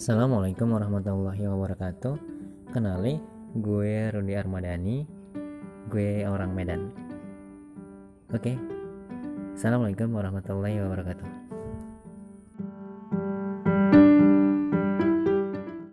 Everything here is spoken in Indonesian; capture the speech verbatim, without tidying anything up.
Assalamualaikum warahmatullahi wabarakatuh. Kenali, gue Rudi Armadani. Gue orang Medan. Oke. Assalamualaikum warahmatullahi wabarakatuh.